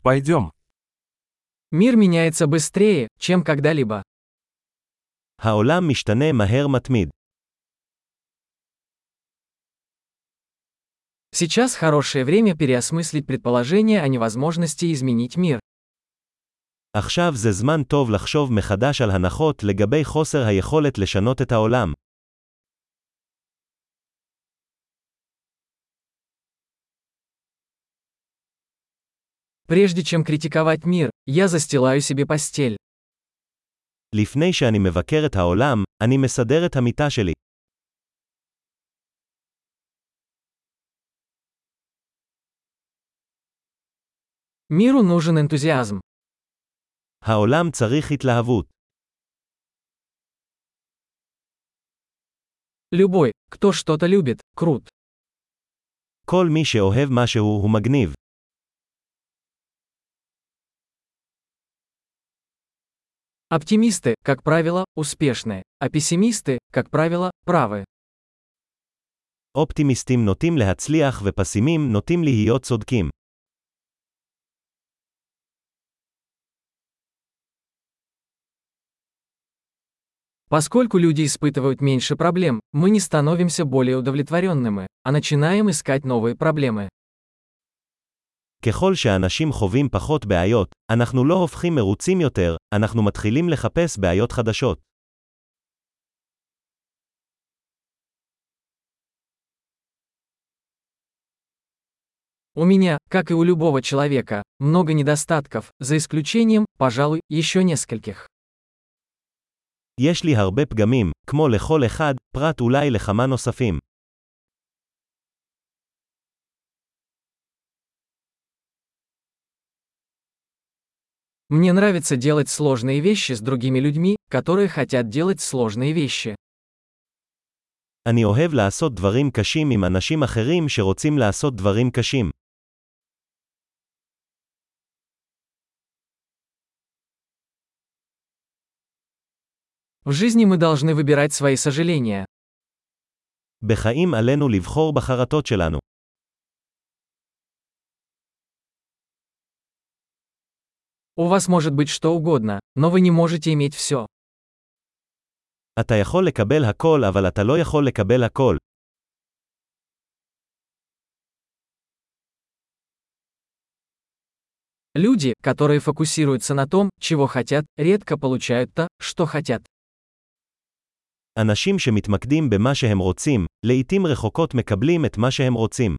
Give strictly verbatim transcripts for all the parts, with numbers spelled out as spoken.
Пойдем. Мир меняется быстрее, чем когда-либо. העולם משתנה מהר מתמיד. Сейчас хорошее время переосмыслить предположение о невозможности изменить мир. עכשיו זה זמן טוב לחשוב מחדש על הנחות לגבי חוסר היכולת לשנות את העולם. Прежде чем критиковать мир, я застилаю себе постель. לפני שאני מבקר את העולם, אני מסדר את המיטה שלי. Миру нужен энтузиазм. העולם צריך התלהבות. Любой, кто что-то любит, крут. כל מי שאוהב משהו הוא מגניב. Оптимисты, как правило, успешны, а пессимисты, как правило, правы. אופטימיסטים נוטים להצליח ופסימים נוטים להיות צודקים. Поскольку люди испытывают меньше проблем, мы не становимся более удовлетворенными, а начинаем искать новые проблемы. ככל שאנשים חווים פחות בעיות, אנחנו לא הופכים מרוצים יותר, אנחנו מתחילים לחפש בעיות חדשות. У меня, как и у любого человека, много недостатков, за исключением, пожалуй, еще нескольких. יש לי הרבה פגמים, כמו לכל אחד, פרט אולי לכמה נוספים. Мне нравится делать сложные вещи с другими людьми, которые хотят делать сложные вещи. אני אוהב לעשות דברים קשים עם אנשים אחרים שרוצים לעשות דברים קשים. В жизни мы должны выбирать свои сожаления. בחיים עלינו לבחור בחרטות שלנו. У вас может быть что угодно, но вы не можете иметь все. אתה יכול לקבל הכל אבל אתה לא יכול לקבל הכל. Люди, которые фокусируются на том, чего хотят, редко получают то, что хотят. אנשים שמתמקדים במה שהם רוצים, לעתים רחוקות מקבלים את מה שהם רוצים.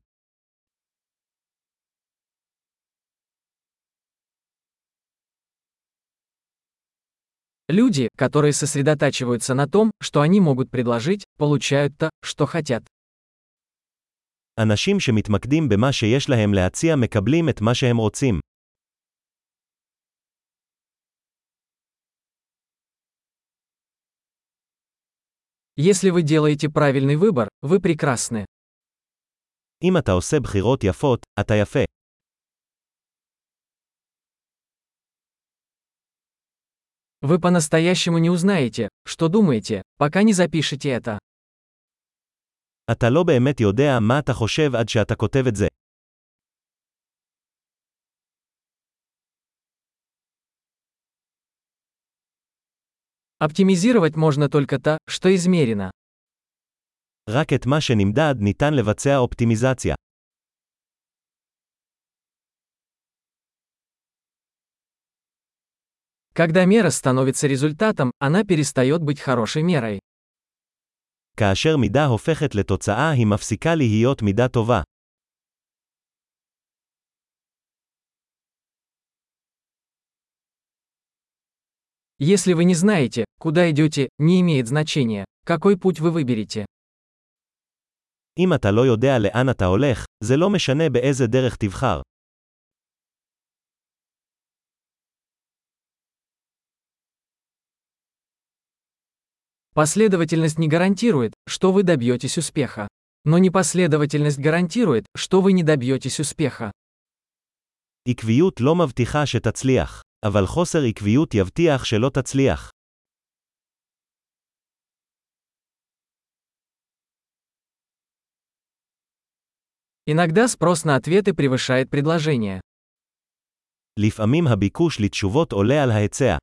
Люди, которые сосредотачиваются на том, что они могут предложить, получают то, что хотят. אנשים שמתמקדים במה שיש להם להציע מקבלים את מה שהם רוצים. Если вы делаете правильный выбор, вы прекрасны. אם אתה עושה בחירות יפות, אתה יפה. Вы по-настоящему не узнаете, что думаете, пока не запишете это. אתה לא באמת יודע מה אתה חושב עד שאתה כותב את זה. Оптимизировать можно только то, что измерено. רק את מה שנמדד ניתן לבצע אופטימיזציה. Когда мера становится результатом, она перестает быть хорошей мерой. כאשר מידה הופכת לתוצאה היא מפסיקה להיות מידה טובה. Если вы не знаете, куда идете, не имеет значения, какой путь вы выберете. אם אתה לא יודע לאן אתה הולך, זה לא משנה באיזה דרך תבחר. Последовательность не гарантирует, что вы добьетесь успеха. Но непоследовательность гарантирует, что вы не добьетесь успеха. עקביות לא מבטיחה שתצליח, אבל חוסר עקביות יבטיח שלא תצליח. Иногда спрос на ответы превышает предложение. לפעמים הביקוש לתשובות עולה על ההיצע.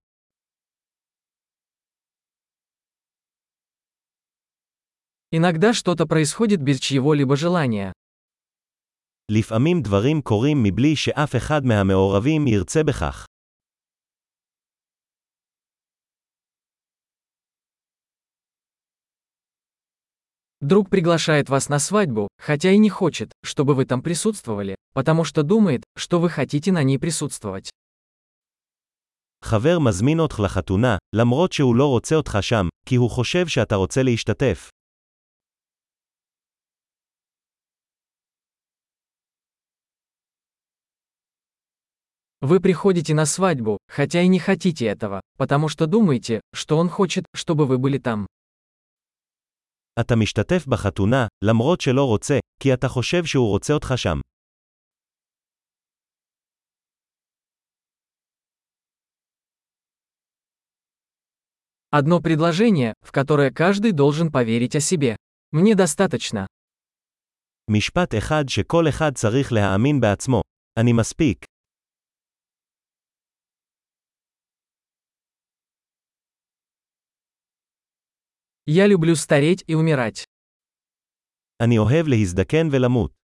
Иногда что-то происходит без чьего-либо желания. לפעמים דברים קורים מבלי שאף אחד מהמעורבים ירצה בכך. Друг приглашает вас на свадьбу, хотя и не хочет, чтобы вы там присутствовали, потому что думает, что вы хотите на ней присутствовать. חבר מזמין אותך לחתונה, למרות שהוא לא רוצה אותך שם, כי הוא חושב שאתה רוצה להשתתף. Вы приходите на свадьбу, хотя и не хотите этого, потому что думаете, что он хочет, чтобы вы были там. אתה משתתף בחתונה, למרות שלא רוצה, כי אתה חושב שהוא רוצה אותך שם. Одно предложение, в которое каждый должен поверить о себе. Мне достаточно. משפט אחד שכל אחד צריך להאמין בעצמו. אני מספיק. Я люблю стареть и умирать. אני אוהב להזדקן ולמות.